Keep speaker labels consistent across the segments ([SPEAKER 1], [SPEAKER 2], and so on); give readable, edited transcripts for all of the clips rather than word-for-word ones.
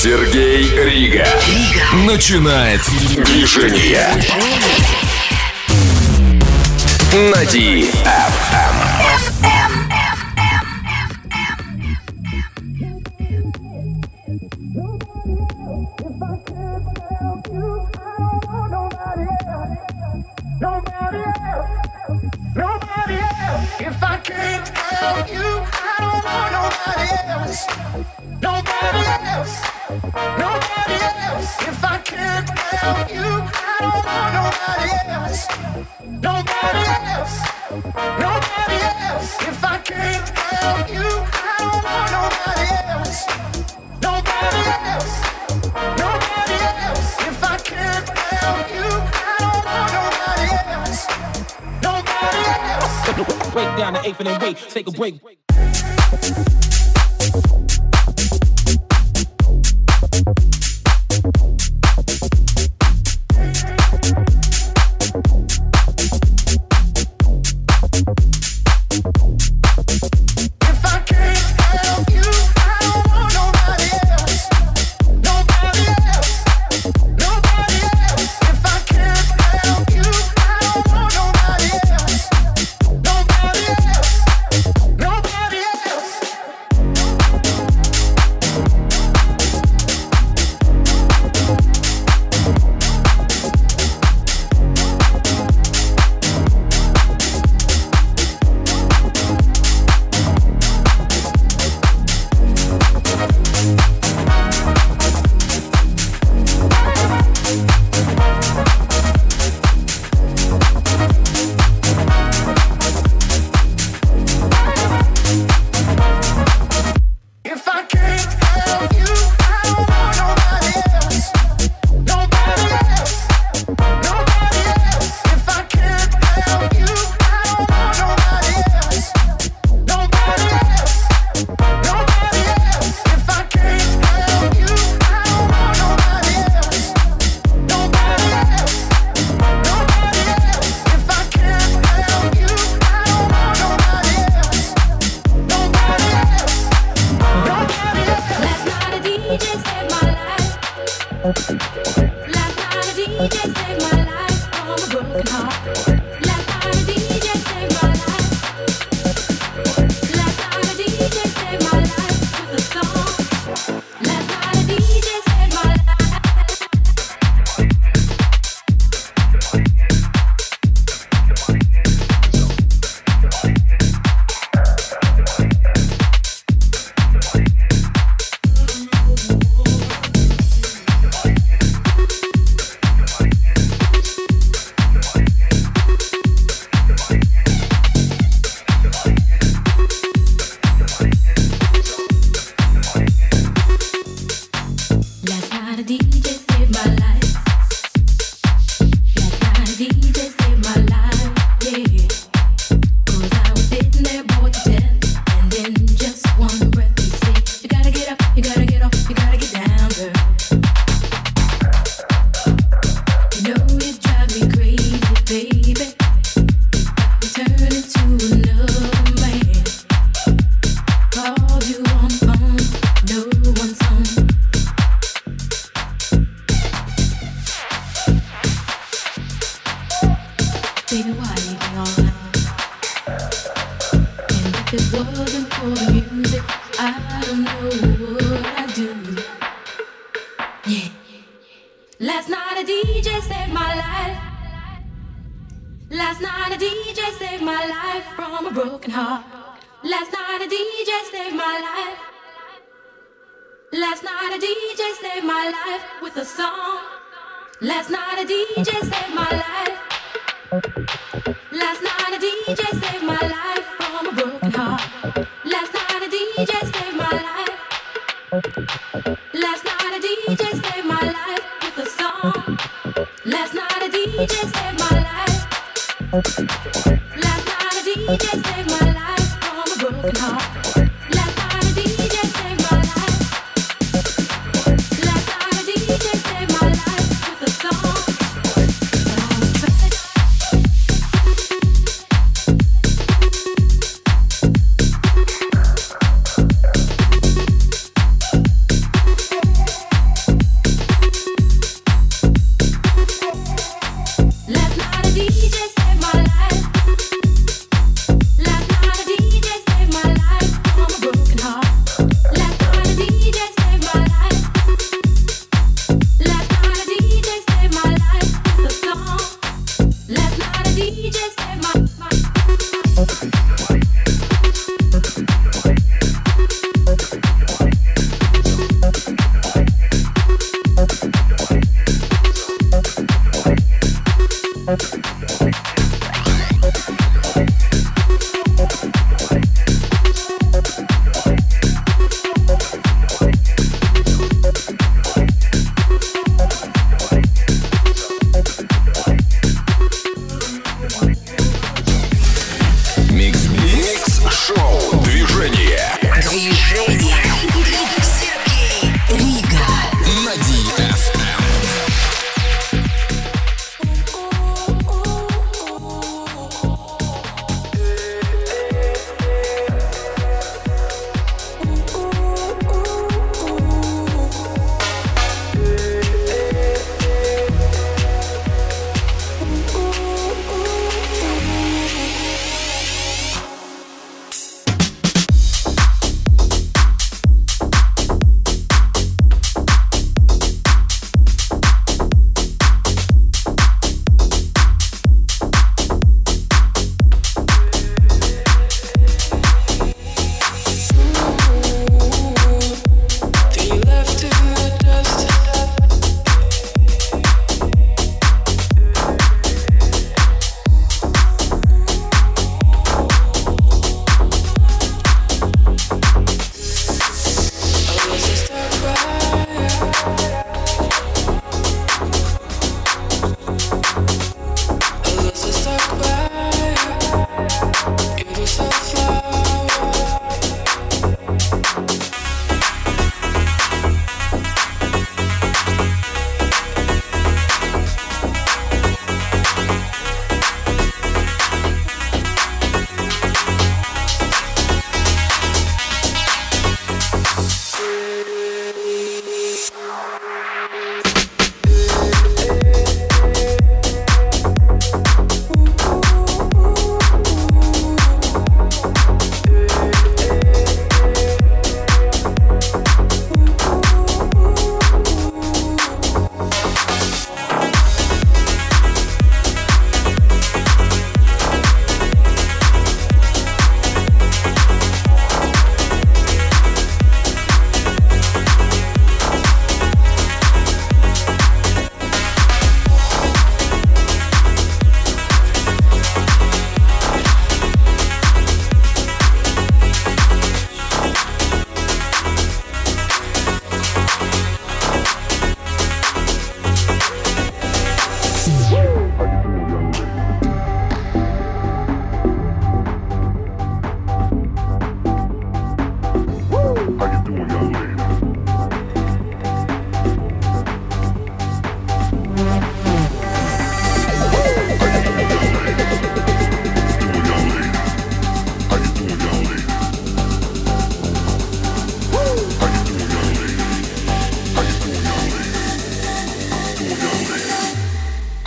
[SPEAKER 1] Сергей Рига начинает движение на DFM.
[SPEAKER 2] Break down the eighth and then wait, take a break.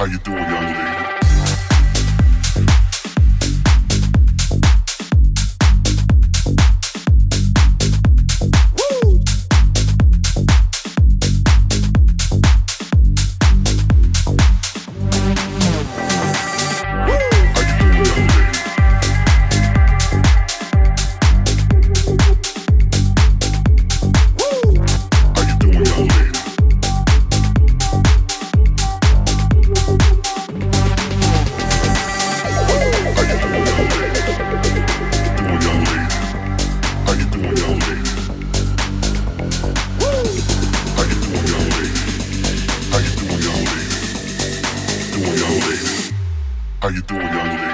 [SPEAKER 3] you doing, young lady? How you doing, young lady?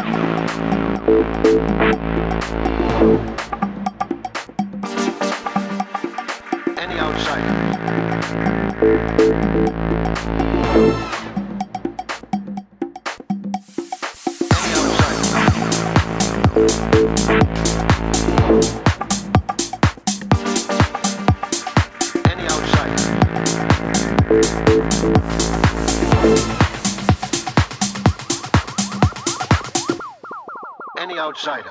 [SPEAKER 4] Outsider.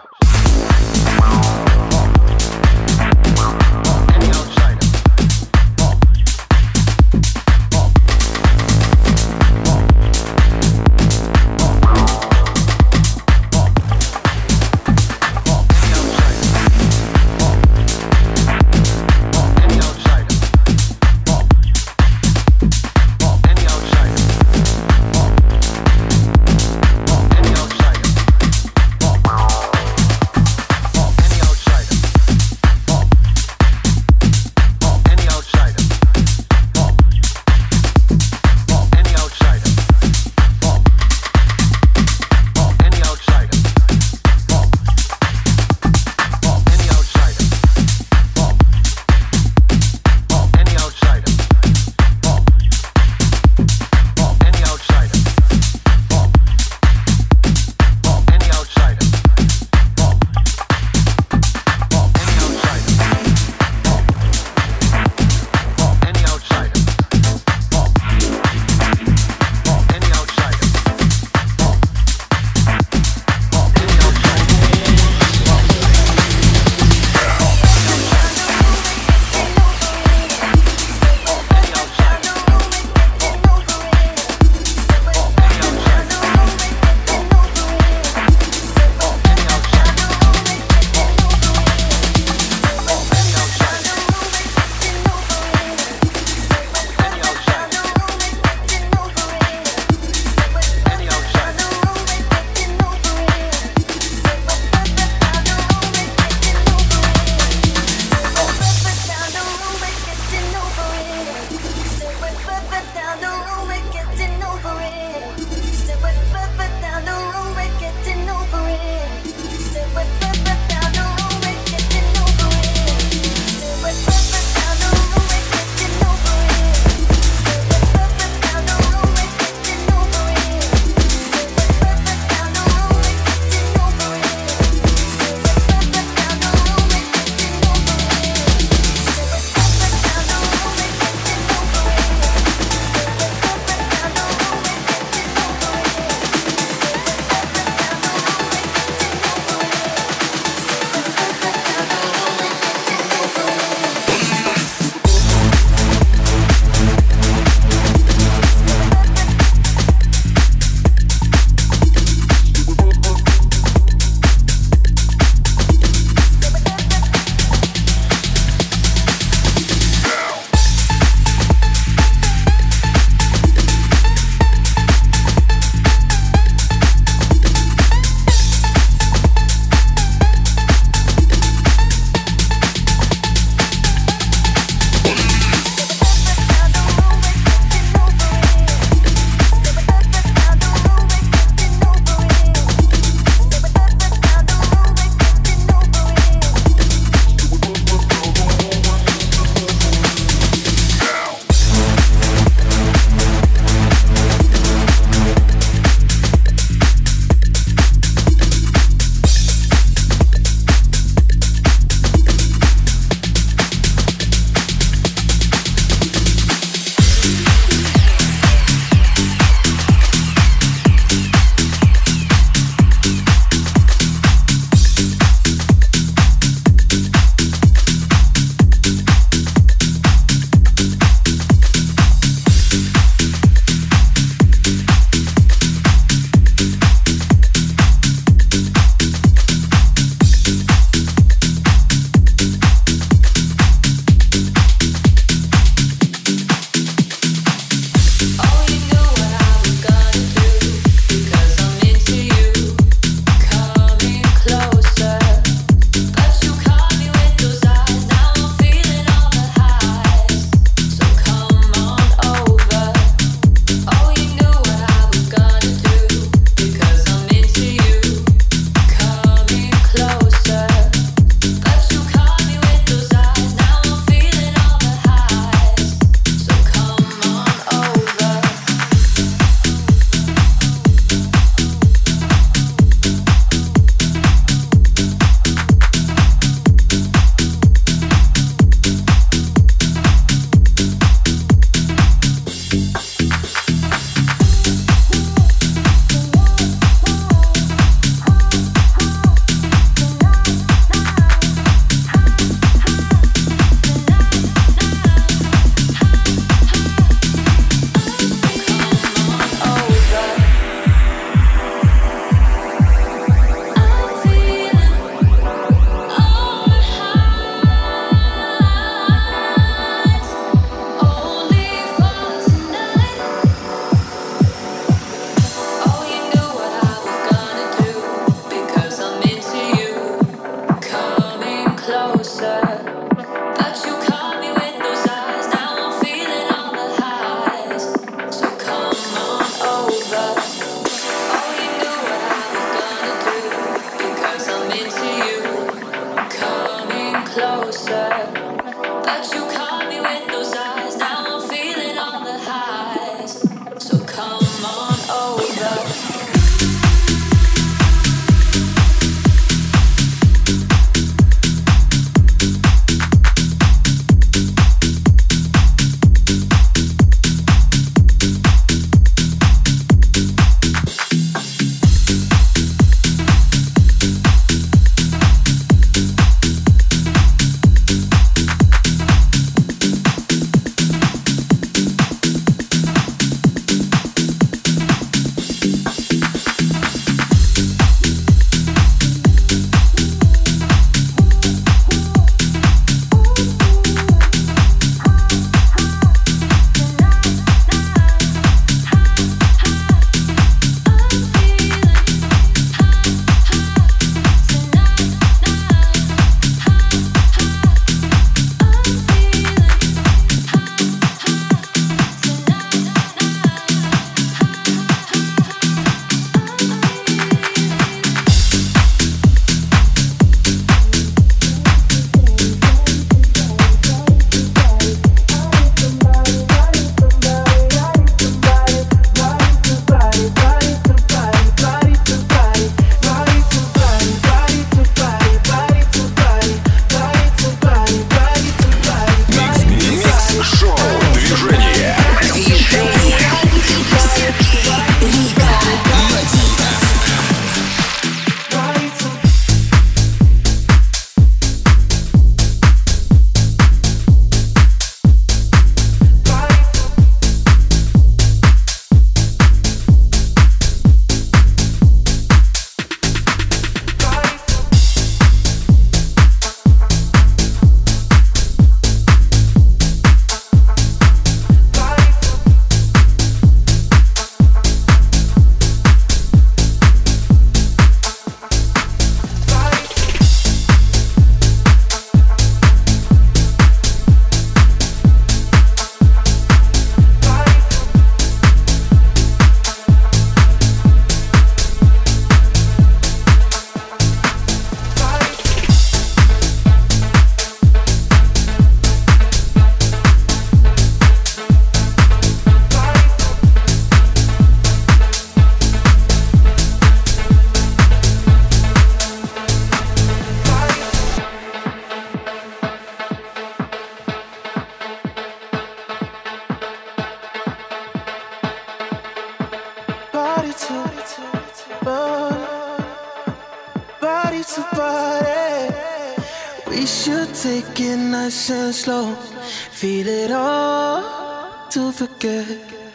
[SPEAKER 4] to body. We should take it nice and slow. Feel it all to forget.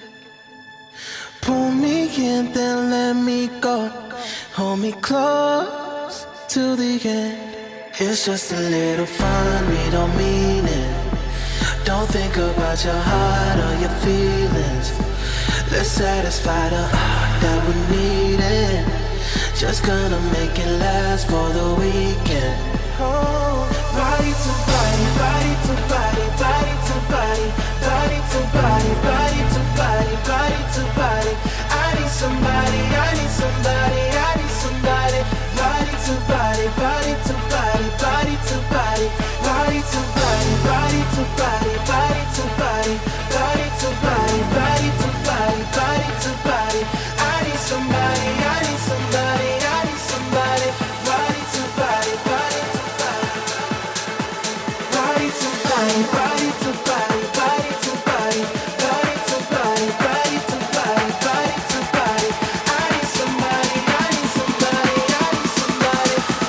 [SPEAKER 4] Pull me in, then let me go. Hold me close to the end. It's just a little fun, we don't mean it. Don't think about your heart or your feelings. Let's satisfy the heart that we're needing. Just gonna make it last for the weekend. Oh, body to body, body to body, body to body, body to body, body to body, body to body. I need somebody, I need somebody, I need somebody. Body to body, body to body, body to body, body to body, body to body, body to body, body to body, body to body, body to body. I need somebody, I need somebody, I need somebody. Body to body, body to body, body to body, body to body, body to body, body to body, body to body, body to body. I need somebody, I need somebody, I need somebody.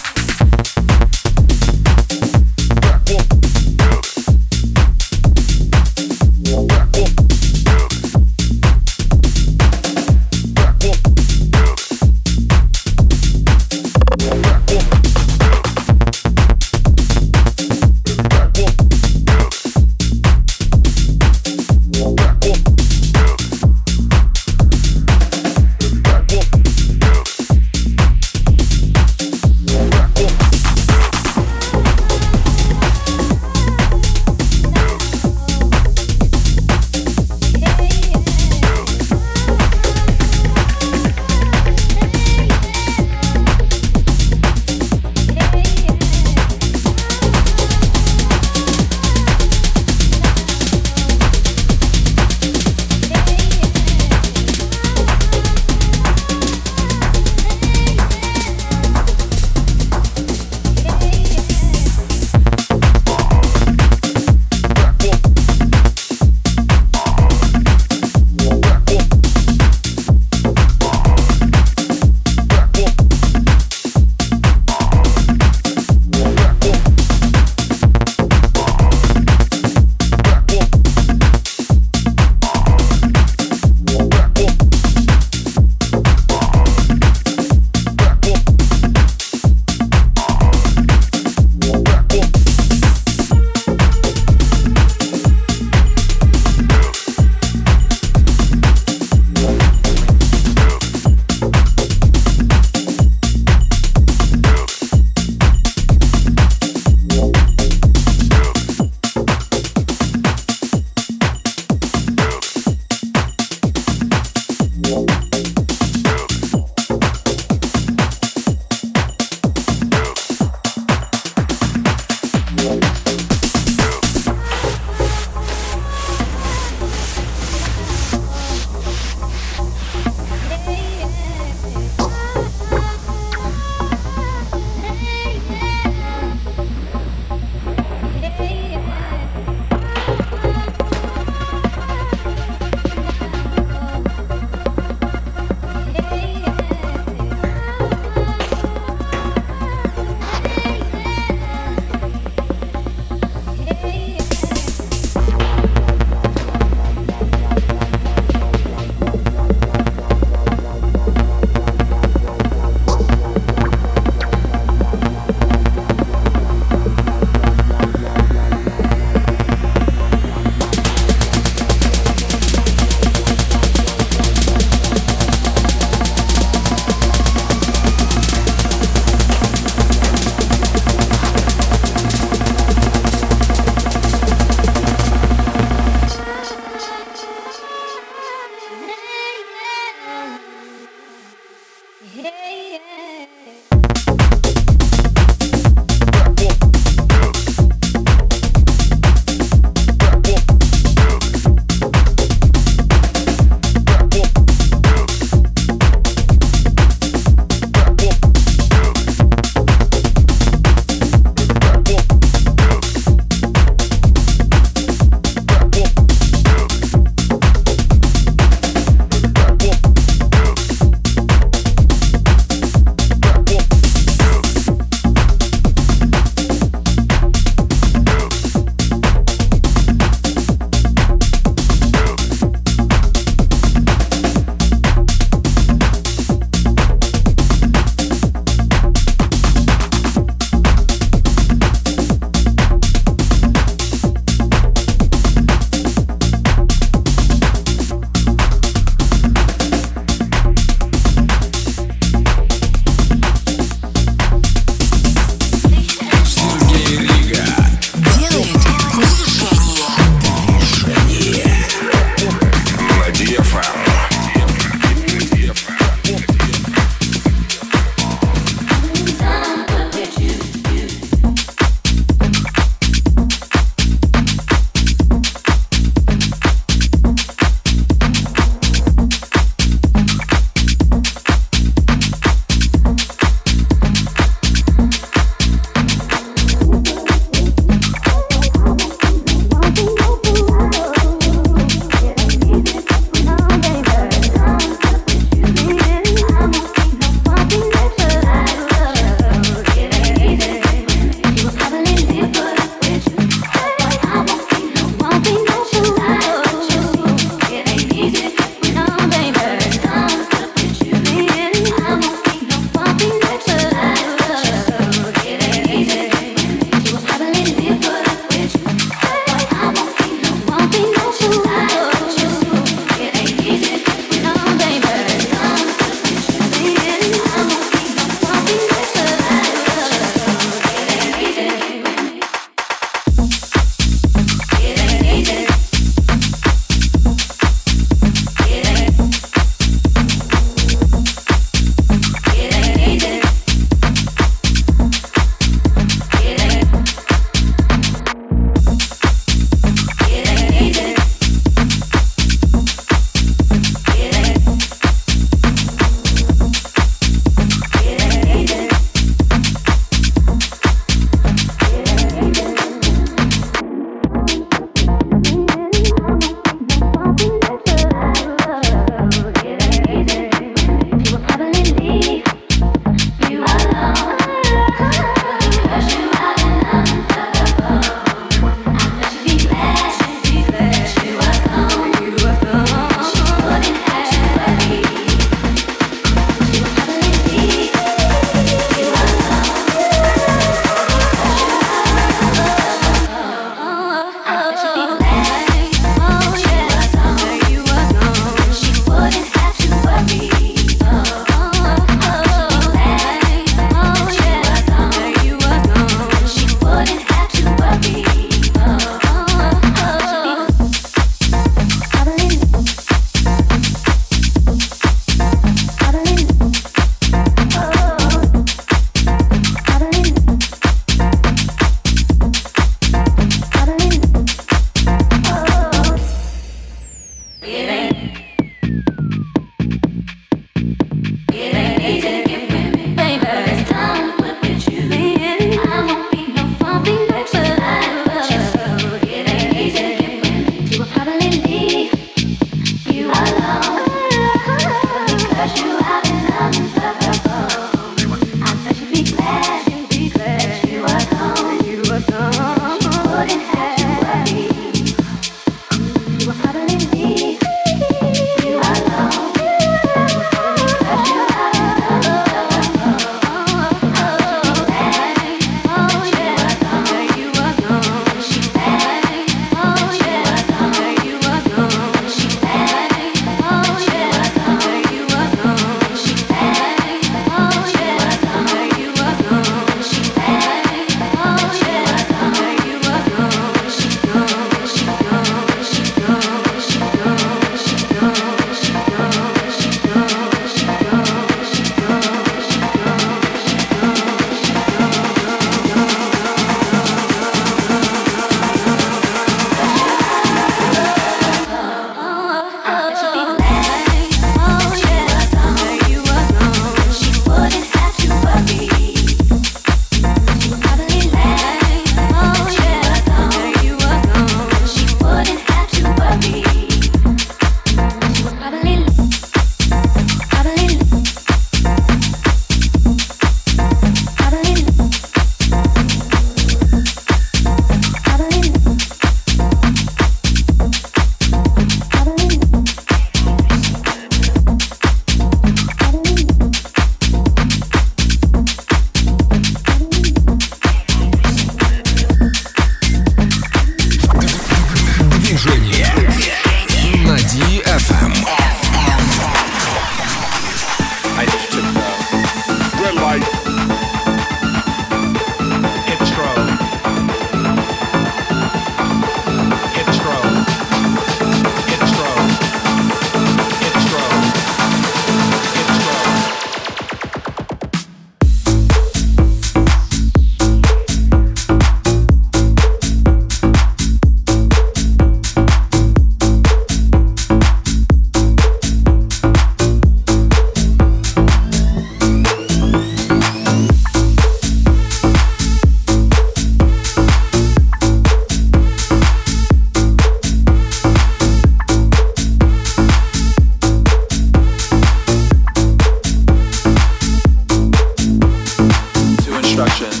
[SPEAKER 5] instructions.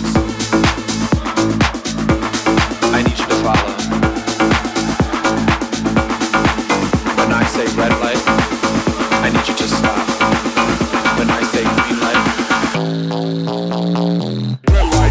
[SPEAKER 5] I need you to follow. When I say red light, I need you to stop. When I say green light, red light.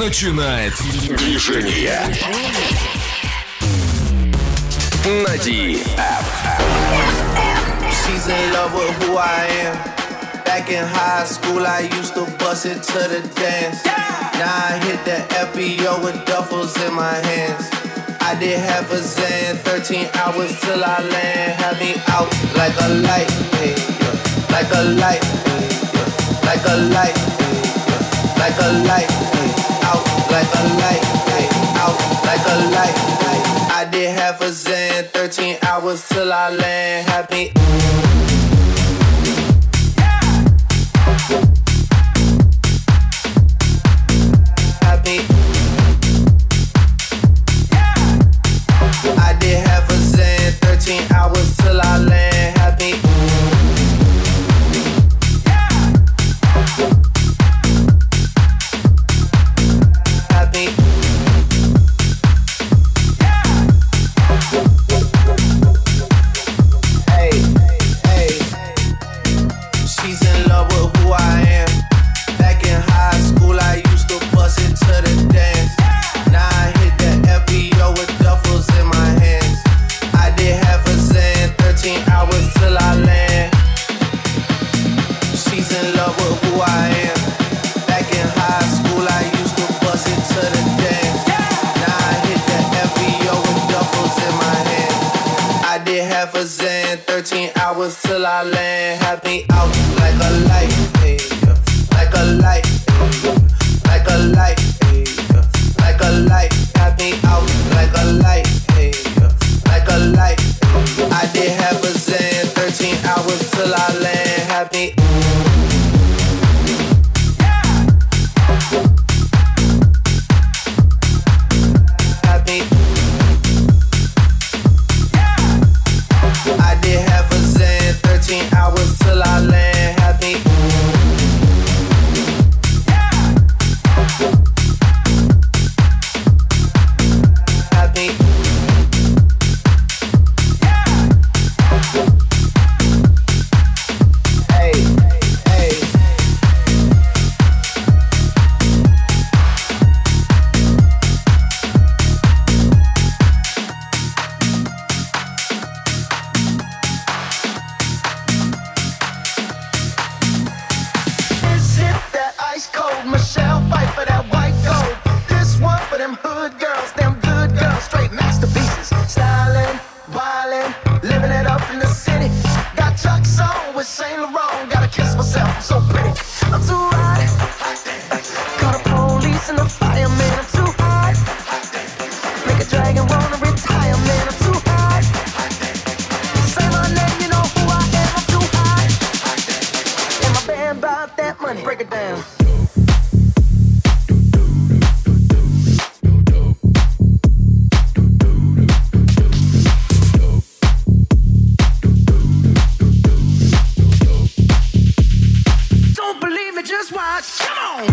[SPEAKER 1] начинает движение. На DFM.
[SPEAKER 4] She's in love with who I am. Back in high school, I used to bust it to the dance. Now I hit the FBO with duffels in my hands. I did half a Zan, 13 hours till I land. Had me out like a light, hey, yeah. Like a light, hey, yeah. Like a light, hey, yeah. Like a light, hey. Out like a light, hey. Out like a light, hey. I did half a Zan, 13 hours till I land. Had me. I did half a Zan, 13 hours till I land. Happy. Happy. Hey, hey. She's in love with who I am. Back in high school, I used to bust it to the dance. Now I hit the FBO with duffels in my hands. I did half a Zan, 13 hours till I land. She's in love with who I am. Back in high school, I used to bust it to the dance. Now I hit the FBO with duffels in my hands. I did half a Zan, 13 hours till I land. Had me out like a light, hey, yeah. Like a light, hey, yeah. Like a light, hey, yeah. Like a light, had me out like a light, hey, yeah. Like a light, I did half a Zan, 13 hours till I land. Had me. Had me. I did half a Zan, 13 hours till I land. Had me. Had me. Hey, hey.
[SPEAKER 6] Is it that ice cold Michelle fight for that white gold? This one for them hood girls, them good girls, straight masterpieces. Styling, wildin', living it up in the city. Got Chuck's on with Saint Laurent, gotta kiss myself, I'm so pretty. I'm too hot. Call the police and the fireman, I'm too hot. Make a dragon wanna retire, man, I'm too hot. Say my name, you know who I am, I'm too hot. And my band bought that money, break it down. Don't believe me, just watch. Come on.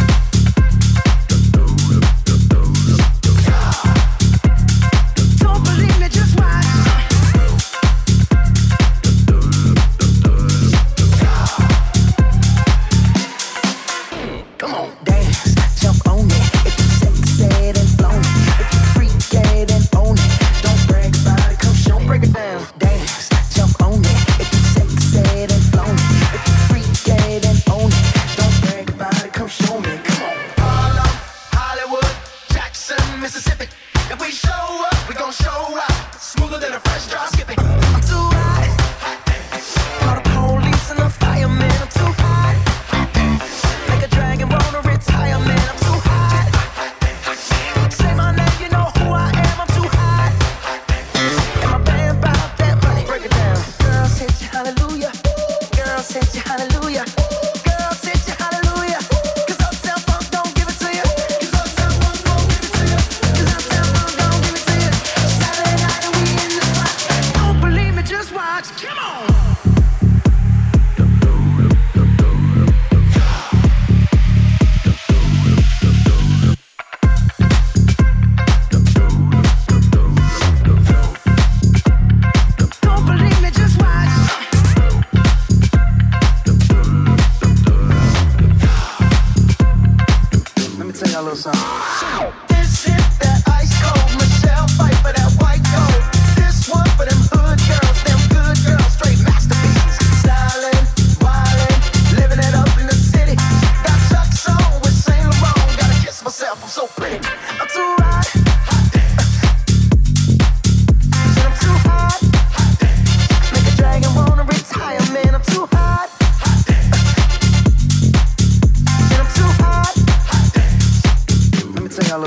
[SPEAKER 6] Don't believe me, just watch.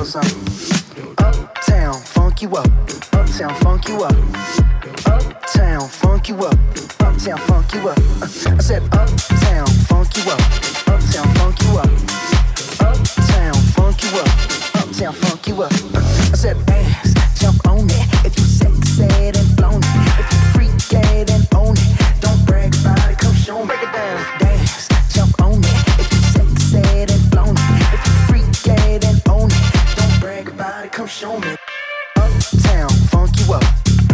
[SPEAKER 4] goes uptown, funk you up, uptown, funk you up, uptown, funk you up, uptown, funk you up. I said uptown, funk you up, uptown, funk you up, uptown, funk you up, uptown, funk you up. I said dance, jump on it, if you sexed and flown it, if you freak and own it, don't brag about it, come show me. Break it down, dance, jump on it, if you sexed and flown it, if you freak and own it, don't brag about it, come show me. Uptown, funk you up.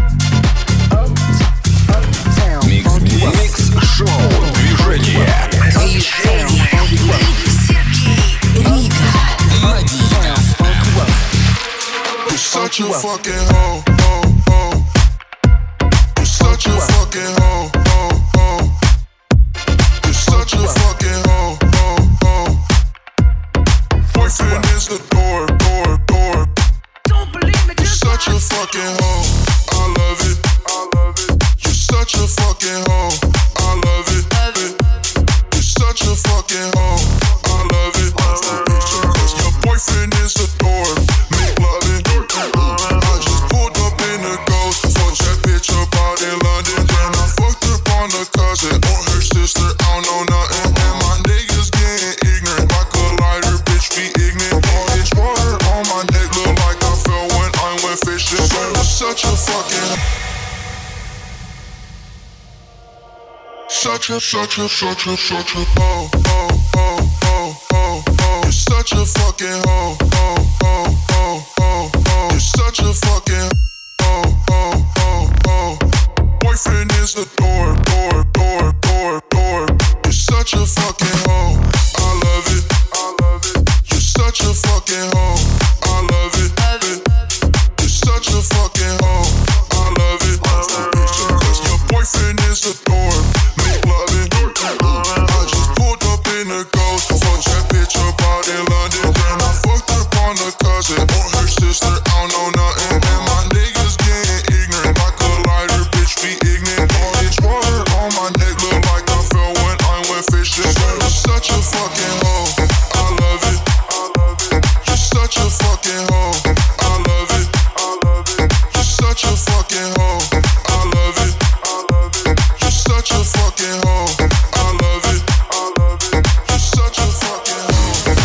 [SPEAKER 4] Uptown, funk you up.
[SPEAKER 1] Микс-шоу «Движение».
[SPEAKER 3] You're such a fucking hoe, hoe, hoe. You're such a fucking hoe, hoe, hoe. You're such a fucking hoe, hoe, hoe. Boyfriend is the door, door, door.
[SPEAKER 6] Don't believe me,
[SPEAKER 3] You're such a fucking hoe, I love it, I love it. You're such a fucking hoe, I love it, You're such a fucking hoe, I love it. Your boyfriend is the door, make loving. I just pulled up in the ghost, fucked that bitch up out in London. Then I fucked up on the cousin or her sister, I don't know nothing. And my niggas getting ignorant, like a lighter, bitch be ignorant. All this water on my neck look like I fell when I went fishing. So you're such a fucking such a hoe, hoe, hoe, hoe, hoe, hoe. You're such a fucking hoe, hoe, hoe, hoe, hoe, hoe. You're such a fucking hoe, hoe, hoe, hoe. Boyfriend is the door, door, door, door, door. You're such a fucking hoe, I love it, I love it. You're such a fucking hoe, I love it, You're such a fucking hoe, I love it, Cause your boyfriend is the door, make loving. I just pulled up in the ghost, fucked that bitch up out in London. Then I fucked up on the cousin or her sister, I don't know nothing. And my niggas getting ignorant, like a lighter, bitch be ignorant. All this water on my neck look like I fell when I went fishing. You're such a fucking hoe, I love it, I love it. You're such a fucking hoe, I love it, I love it. You're such a fucking hoe, I love it, I love it. You're such a fucking hoe, I love it, I love it. You're such a fucking hoe.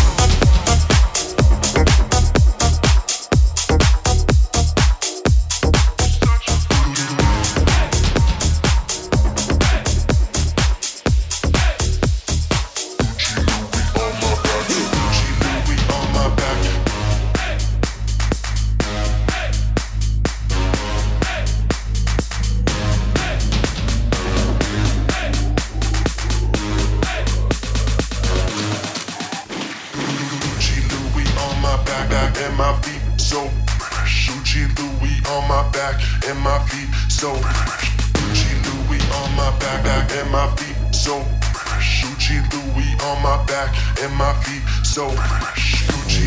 [SPEAKER 3] And my feet so Gucci Louis on my back and my feet so Gucci Louis on my back and my feet so Gucci Louis on my back and my feet so Gucci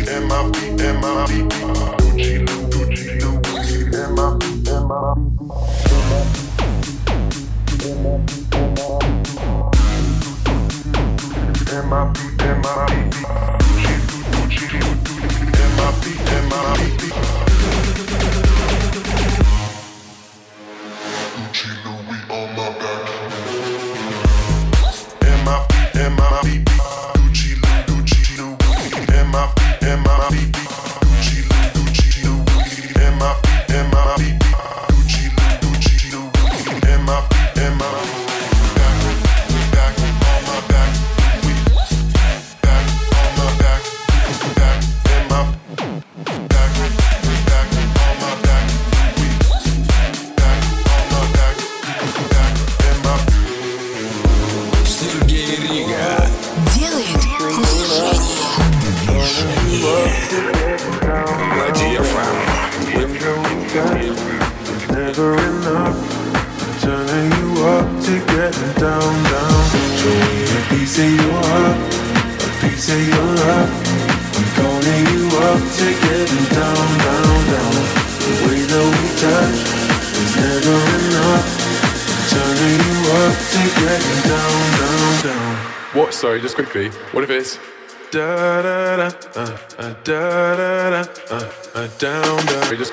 [SPEAKER 5] What? Sorry, just quickly. What if it's da da da da da da down down? Just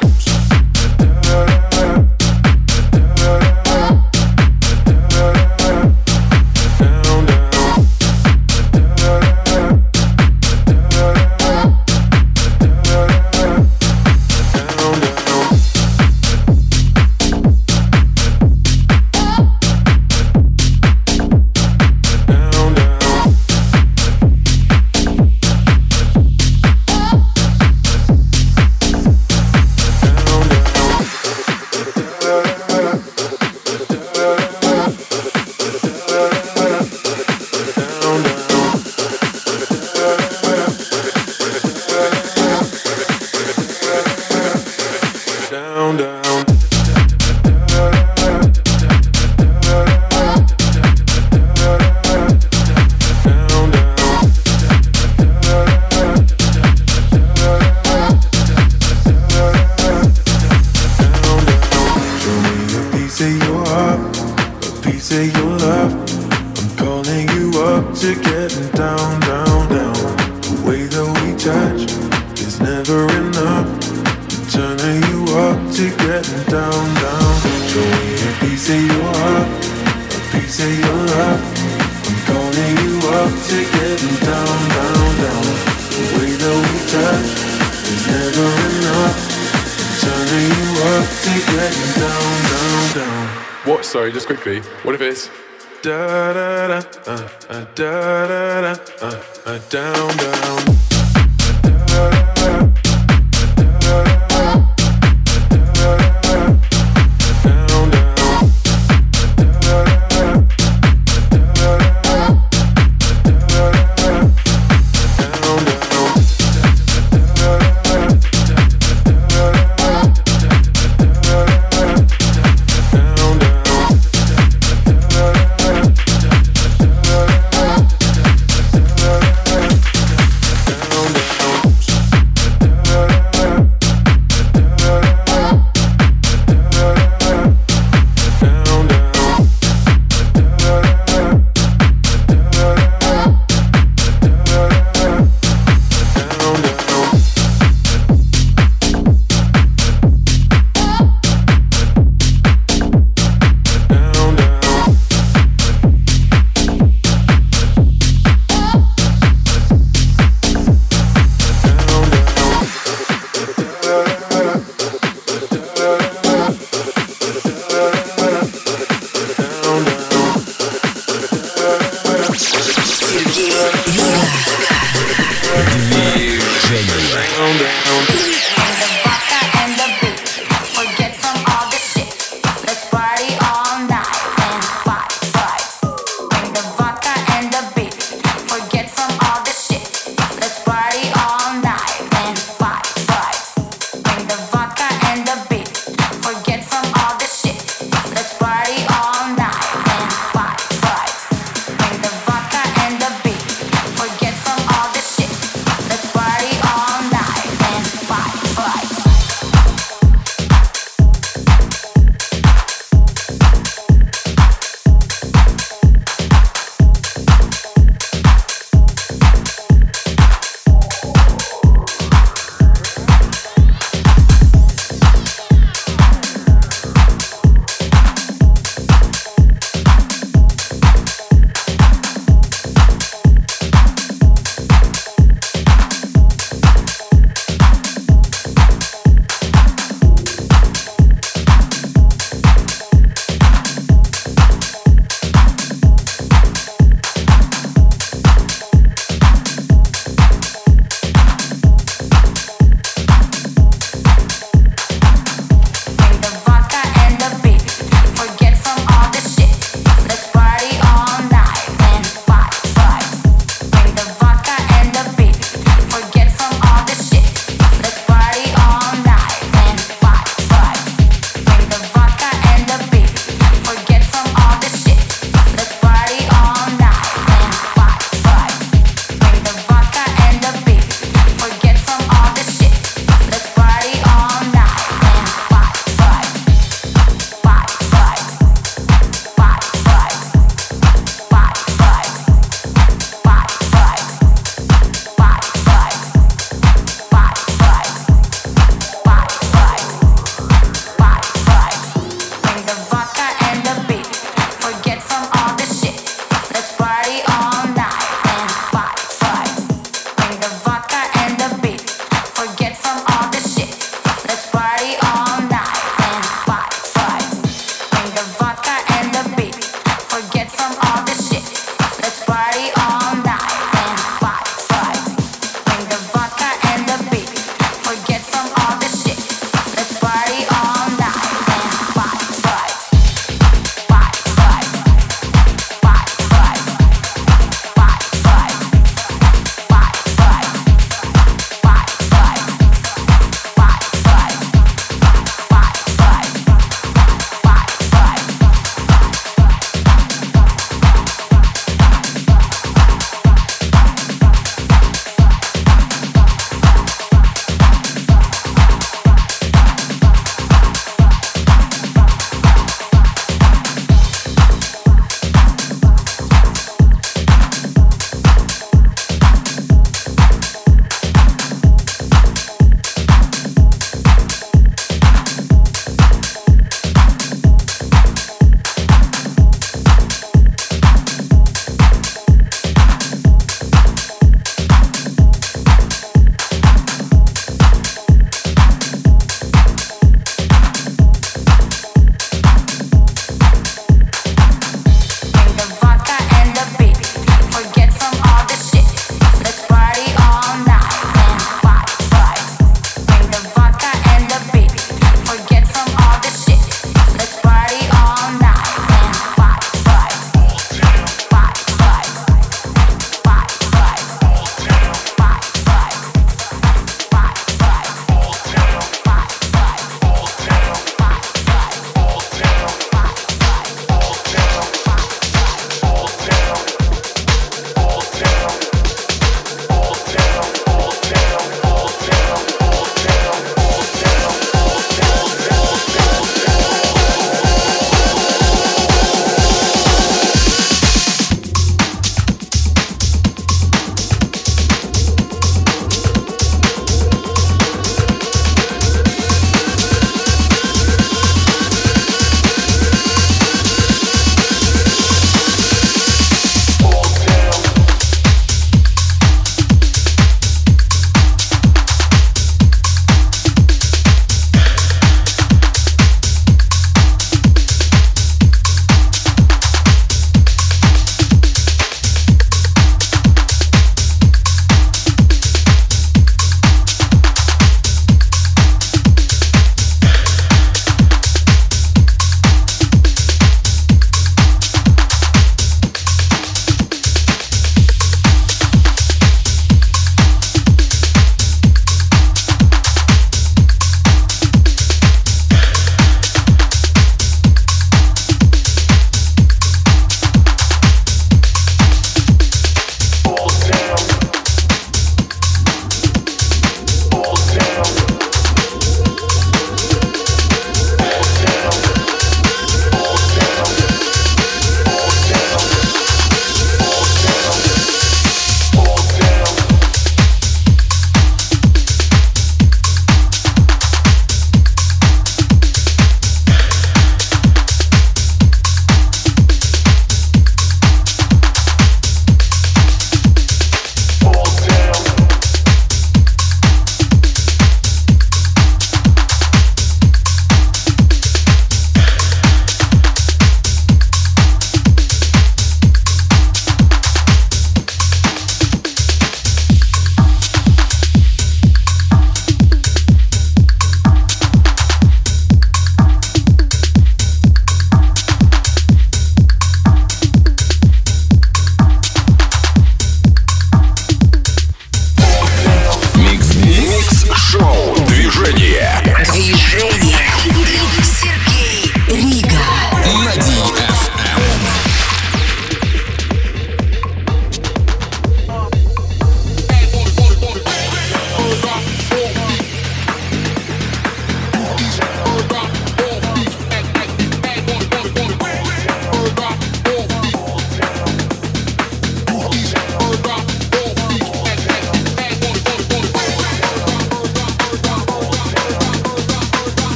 [SPEAKER 5] What? Sorry, just quickly. What if it's da da da da da down down?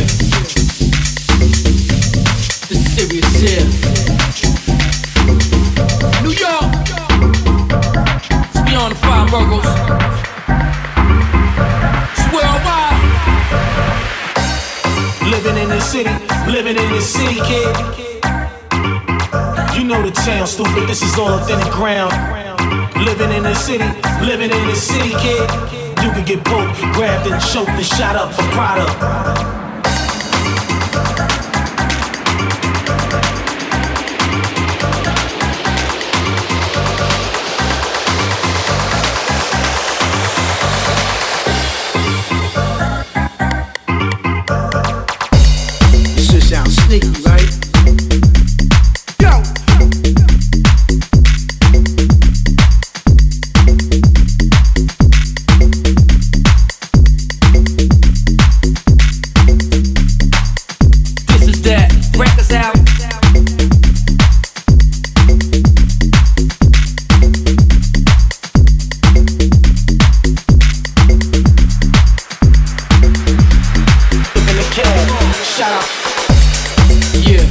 [SPEAKER 2] This is serious here. New York. It's beyond the five boroughs. It's worldwide.
[SPEAKER 7] Living in this city, kid. You know the town, stupid. This is all authentic ground. Living in this city, kid. You can get poked, grabbed and choked and shot up for product.
[SPEAKER 8] Sneaky, right? Go!
[SPEAKER 2] This is that. Break us out.
[SPEAKER 7] In the cab, shout out.
[SPEAKER 2] Yeah.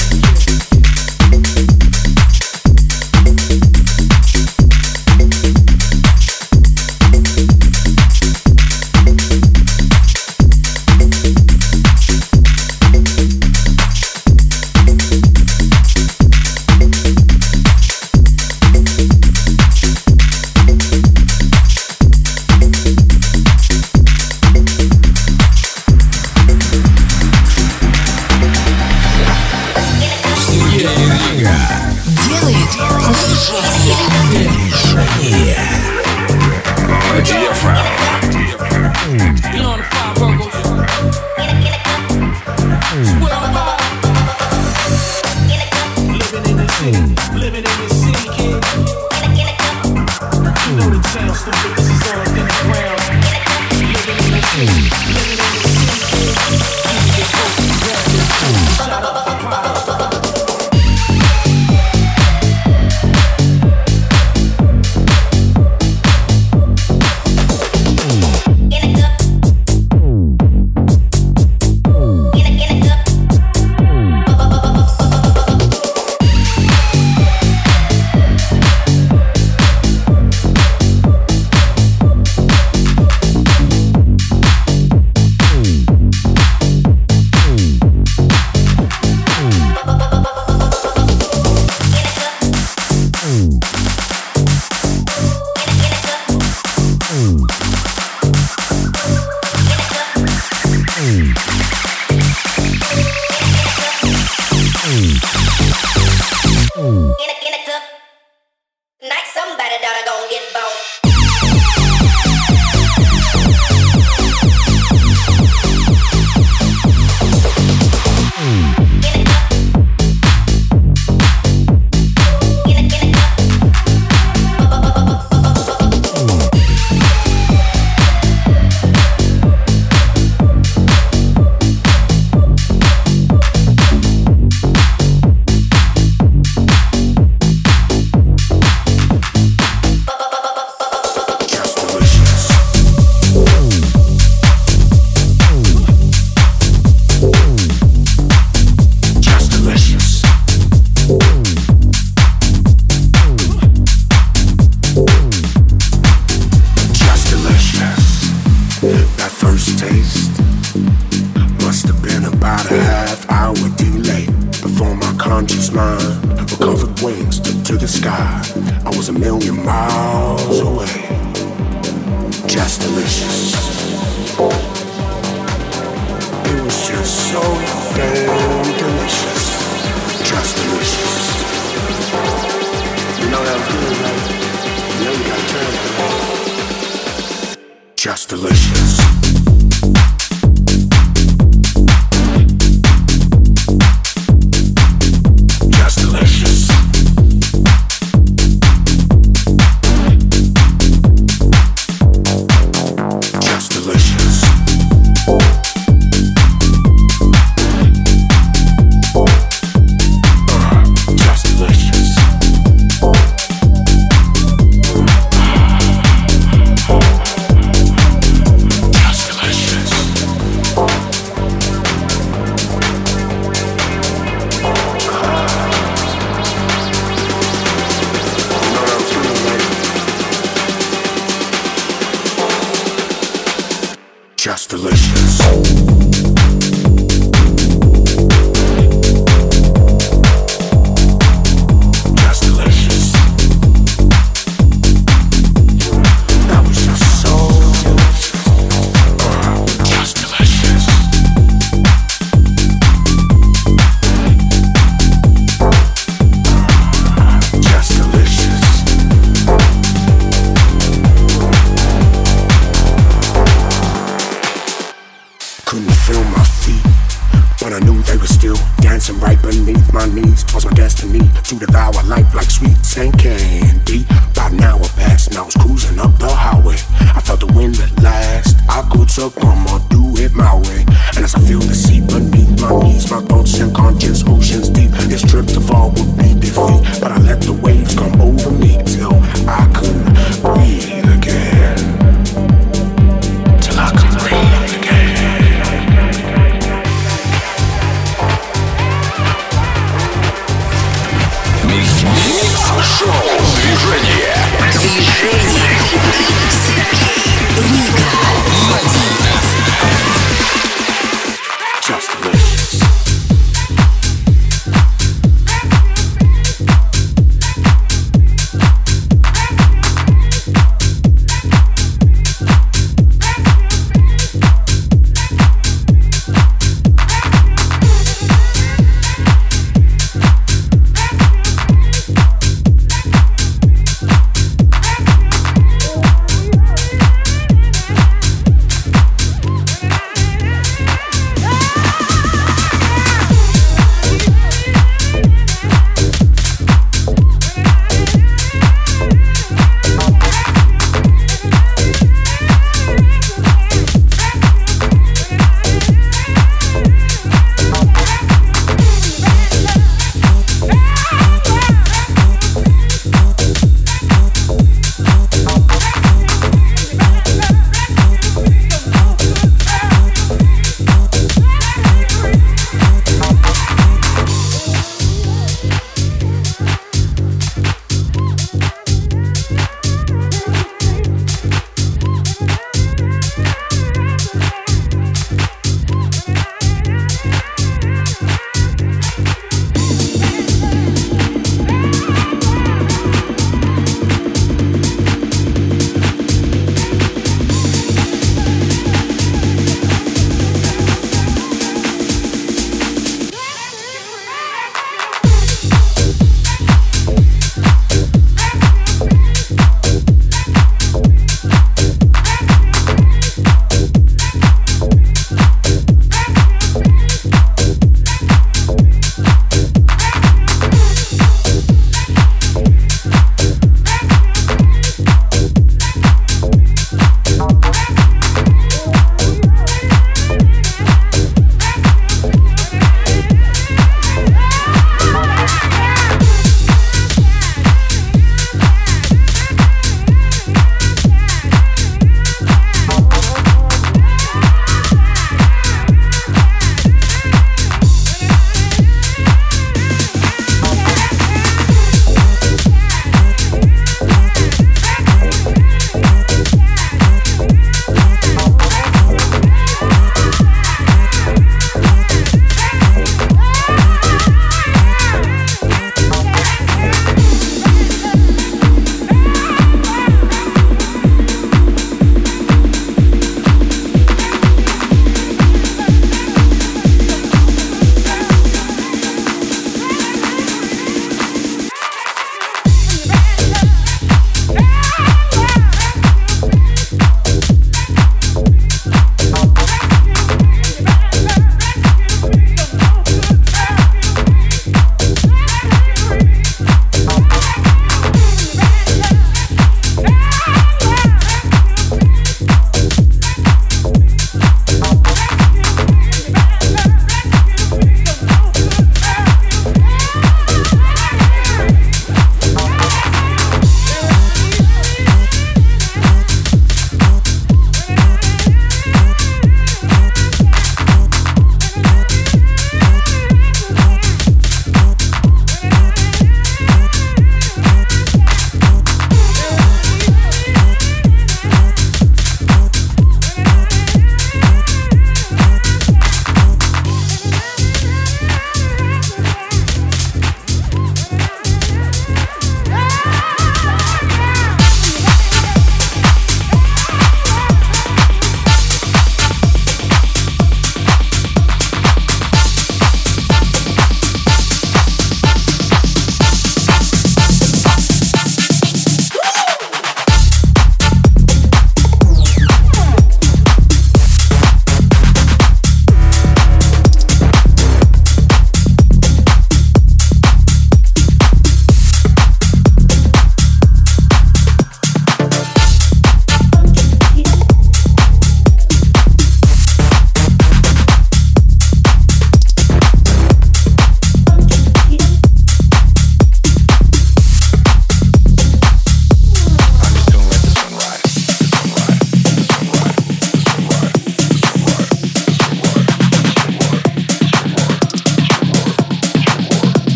[SPEAKER 2] Beyond the five boroughs. It's worldwide.
[SPEAKER 7] Living in this city, kid. You know the town, stupid. This is all authentic ground. Living in this city, kid. You can get poked, grabbed and choked, shot up for product.
[SPEAKER 3] Just delicious. Just
[SPEAKER 9] I knew they were still dancing right beneath my knees. 'Twas my destiny to devour life like sweets and candy. About an hour passed and I was cruising up the highway. I felt the wind at last. I could succumb or do it my way. And as I feel the sea beneath my knees, my thoughts and conscious oceans deep. This trip to fall would be defeat, but I let the waves come over me till I couldn't breathe again. Till I could breathe again.
[SPEAKER 1] Шоу «Движение».
[SPEAKER 9] Just delicious.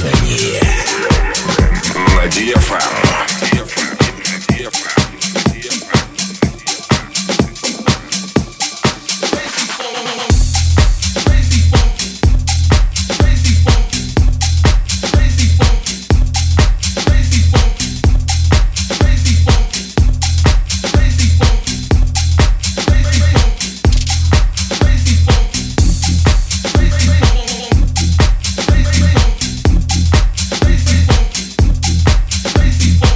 [SPEAKER 1] Движение на DFM.
[SPEAKER 10] Crazy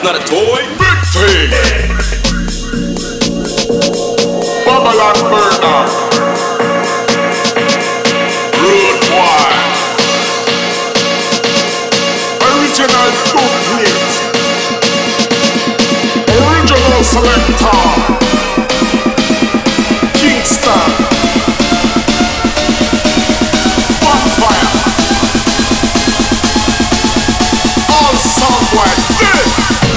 [SPEAKER 1] not a toy.
[SPEAKER 3] Big thing. Babylon burner. Rude boy. Original booklet. Original selector. Kingston. Bonfire. All somewhere dead.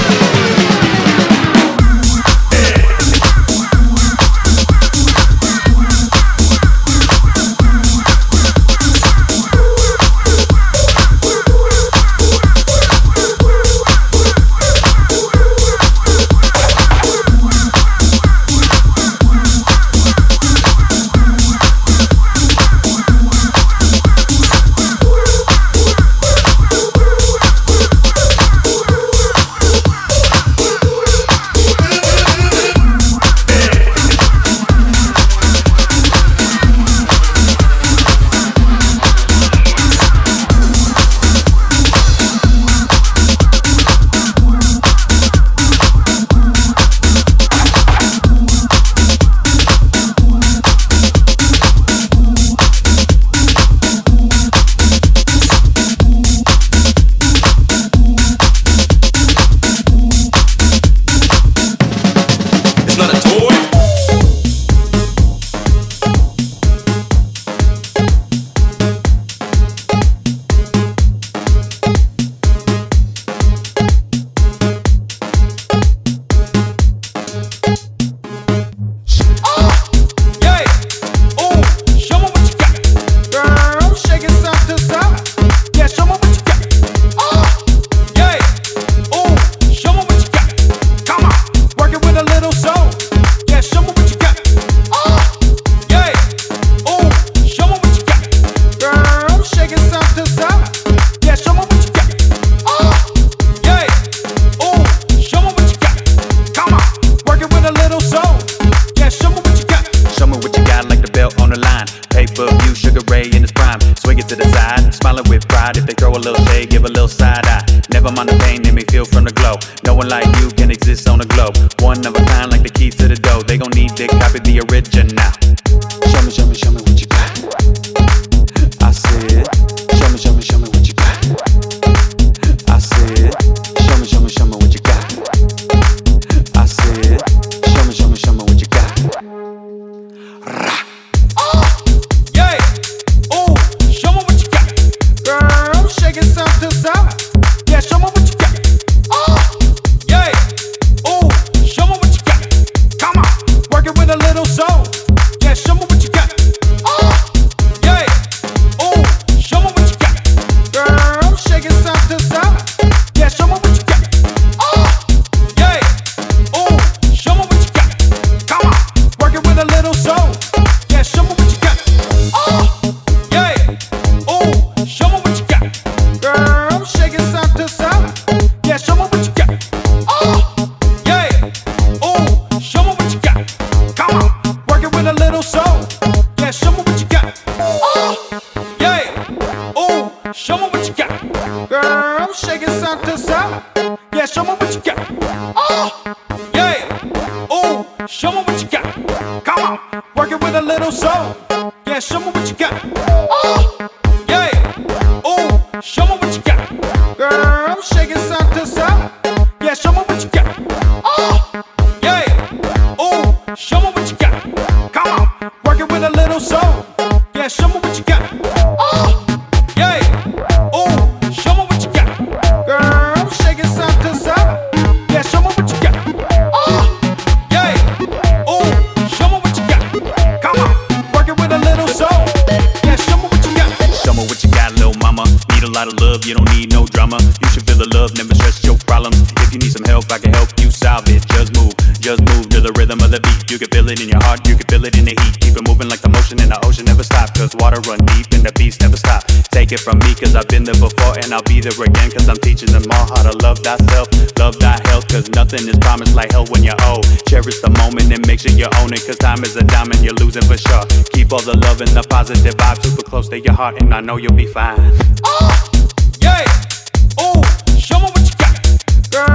[SPEAKER 10] From me, cause I've been there before and I'll be there again, cause I'm teaching them all how to love thyself, love thy health, cause nothing is promised like hell when you're old. Cherish the moment and make sure you own it, cause time is a diamond, you're losing for sure. Keep all the love and the positive vibes super close to your heart, and I know you'll be fine.
[SPEAKER 2] Yeah, oh, show me what you got, girl.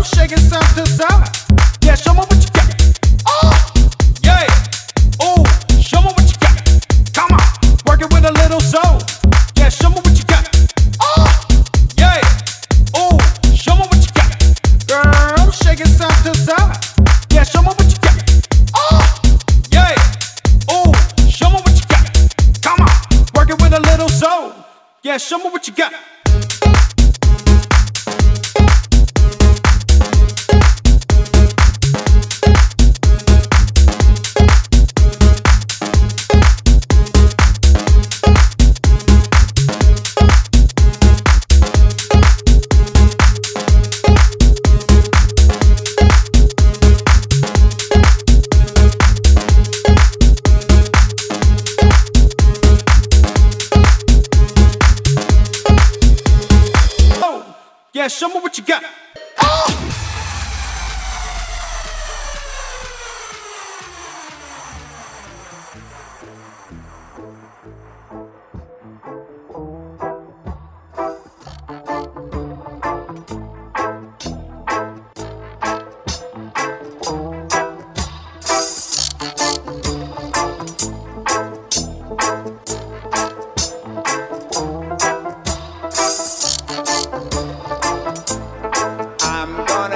[SPEAKER 8] shaking side to side. Yeah, show me what you got. Oh, yeah. Ooh, show me what you got. Come on, work it with a little soul. Yeah, show me what you got. Oh, yeah. Ooh, show me what you got. Girl, shaking side to side. Yeah, show me what you got. Oh, yeah. Ooh, show me what you got. Come on, work it with a little soul. Yeah, show me what you got. Yeah, show me what you got. Oh!
[SPEAKER 6] I'm gonna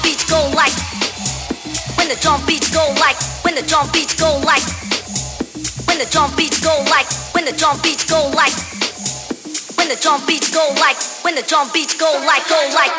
[SPEAKER 11] beats go like, when the drum beats go like, when the drum beats go like, when the drum beats go like, when the drum beats go like, when the drum beats go like, when the drum beats go like, go like.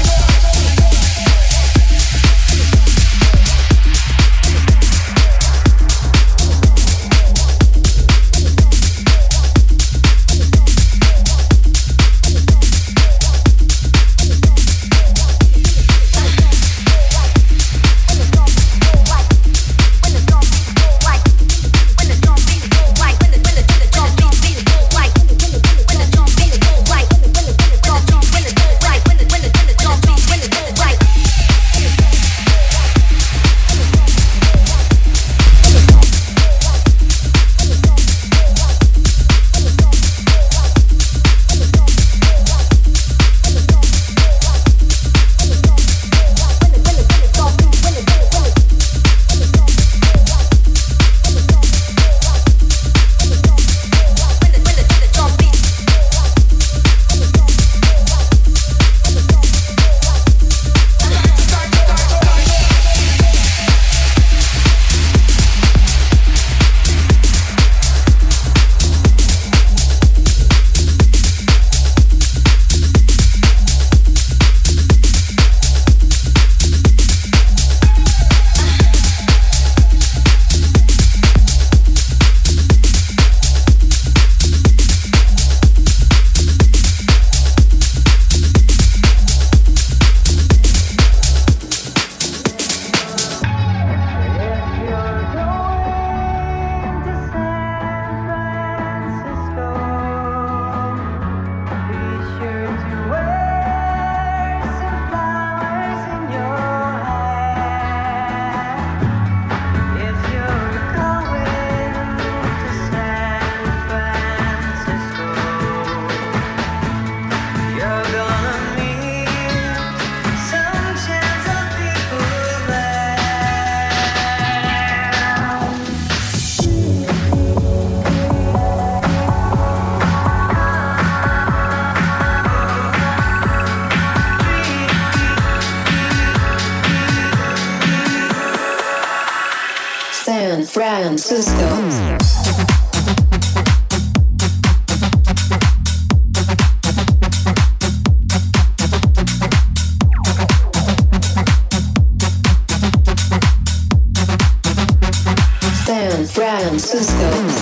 [SPEAKER 12] Francisco. San Francisco.